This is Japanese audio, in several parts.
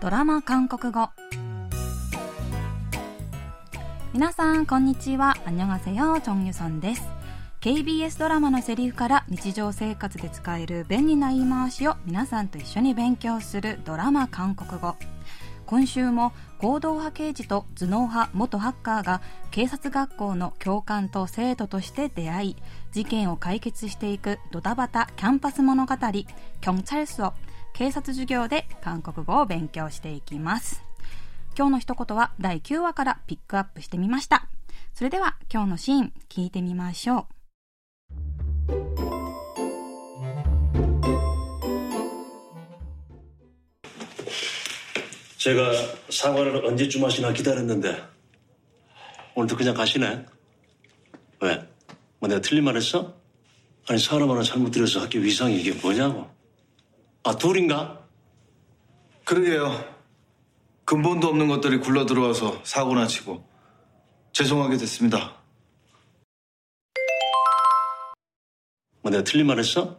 ドラマ韓国語。皆さんこんにちは。안녕하세요。정유선です。KBS ドラマのセリフから日常生活で使える便利な言い回しを皆さんと一緒に勉強するドラマ韓国語。今週も行動派刑事と頭脳派元ハッカーが警察学校の教官と生徒として出会い、事件を解決していくドタバタキャンパス物語경찰서警察授業で韓国語を勉強していきます。今日の一言は第9話からピックアップしてみました。それでは今日のシーン聞いてみましょう。 제가 사과를 언제쯤 하시나 기다렸는데 오늘도 그냥 가시네? 왜? 뭐 내가 틀린 말 했어? 아니 사람 하나 잘못 들여서 학교 위상이 이게 뭐냐고. 아 둘인가? 그러게요. 근본도 없는 것들이 굴러 들어와서 사고나 치고 죄송하게 됐습니다. 뭐 내가 틀린 말 했어?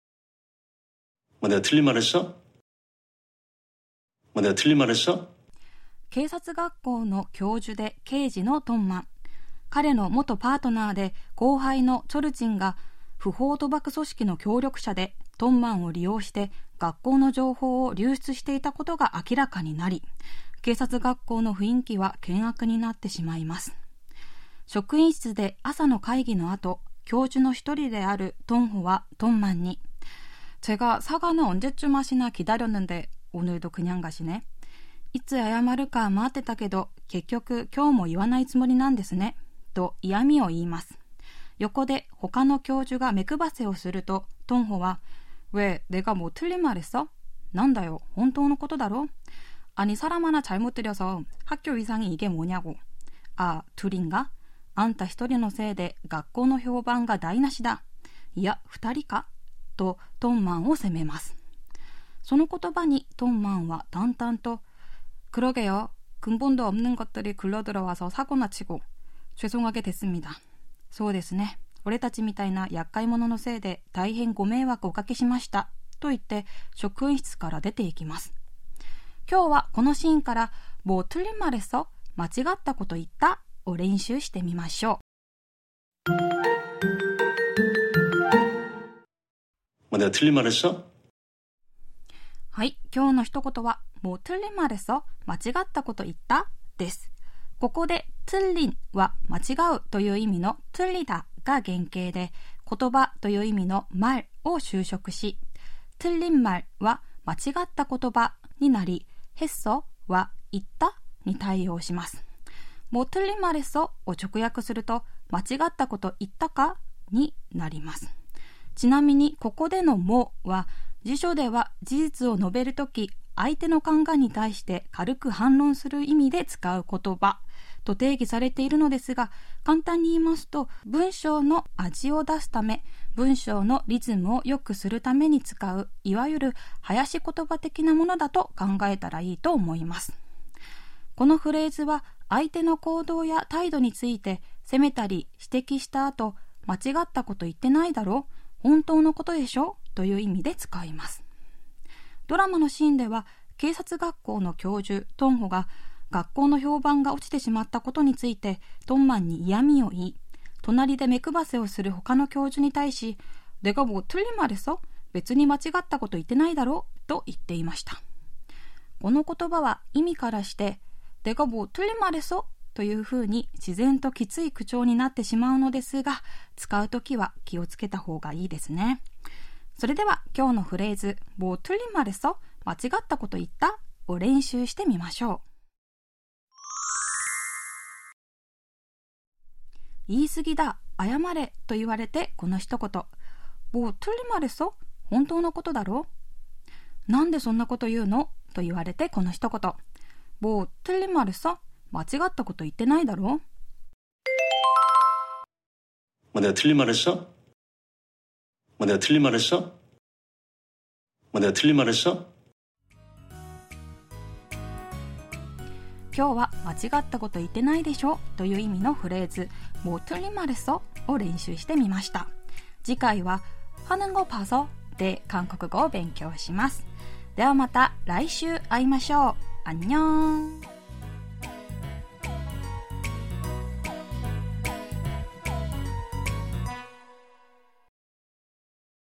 뭐 내가 틀린 말 했어? 뭐 내가 틀린 말 했어? 警察学校の教授で刑事のトンマン。彼の元パートナーで後輩のチョルチンが不法賭博組織の協力者でトンマンを利用して学校の情報を流出していたことが明らかになり、警察学校の雰囲気は険悪になってしまいます。職員室で朝の会議の後、教授の一人であるトンホはトンマンに제가 사과는 언제쯤 하시나 기다렸는데 오늘도 그냥 가시네. いつ謝るか待ってたけど結局今日も言わないつもりなんですねと嫌味を言います。横で他の教授が目配せをするとトンホは왜 내가 뭐 틀린 말 했어? なんだよ本当のことだろ? 아니 사람 하나 잘못 들여서 학교 위상이 이게 뭐냐고. 아 둘인가? あんた一人のせいで学校の評判が台無しだ。いや二人かとトンマンを責めます。その言葉にトンマンは淡々と그러게요. 근본도 없는 것들이 굴러들어와서 사고나 치고 죄송하게 됐습니다. そうですね。俺たちみたいな厄介者のせいで大変ご迷惑をおかけしましたと言って職員室から出ていきます。今日はこのシーンから뭐 틀린 말 했어? 間違ったこと言ったを練習してみましょう。 뭐 내가 틀린 말 했어? はい、今日の一言は뭐 틀린 말 했어? 間違ったこと言ったです。ここで틀린は間違うという意味の틀리다が原型で、言葉という意味の말を修飾し、틀린 말は間違った言葉になり、했어は言ったに対応します。뭐 틀린 말 했어を直訳すると間違ったこと言ったかになります。ちなみにここでのもは辞書では事実を述べるとき相手の考えに対して軽く反論する意味で使う言葉と定義されているのですが、簡単に言いますと文章の味を出すため、文章のリズムを良くするために使ういわゆる囃子言葉的なものだと考えたらいいと思います。このフレーズは相手の行動や態度について責めたり指摘した後、間違ったこと言ってないだろ、本当のことでしょという意味で使います。ドラマのシーンでは警察学校の教授トンホが学校の評判が落ちてしまったことについてトンマンに嫌味を言い、隣で目配せをする他の教授に対し내가 뭐 틀린 말 했어? 別に間違ったこと言ってないだろと言っていました。この言葉は意味からして내가 뭐 틀린 말 했어? というふうに自然ときつい口調になってしまうのですが、使うときは気をつけた方がいいですね。それでは今日のフレーズ뭐 틀린 말 했어? 間違ったこと言ったを練習してみましょう。言い過ぎだ、謝れと言われてこの一言뭐 틀린 말 했어? 本当のことだろ？なんでそんなこと言うのと言われてこの一言뭐 틀린 말 했어? 間違ったこと言ってないだろ？ 뭐 내가 틀린 말 했어? 뭐 내가 틀린 말 했어? 뭐 내가 틀린 말 했어? 今日は間違ったこと言ってないでしょという意味のフレーズ뭐 틀린 말 했어? を練習してみました。次回は하는 거 봐서で韓国語を勉強します。ではまた来週会いましょう。 안녕.